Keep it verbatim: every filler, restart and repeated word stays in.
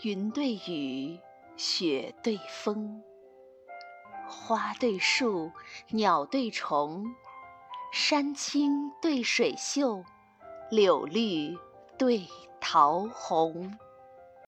云对雨，雪对风，花对树，鸟对虫，山青对水秀，柳绿对桃红。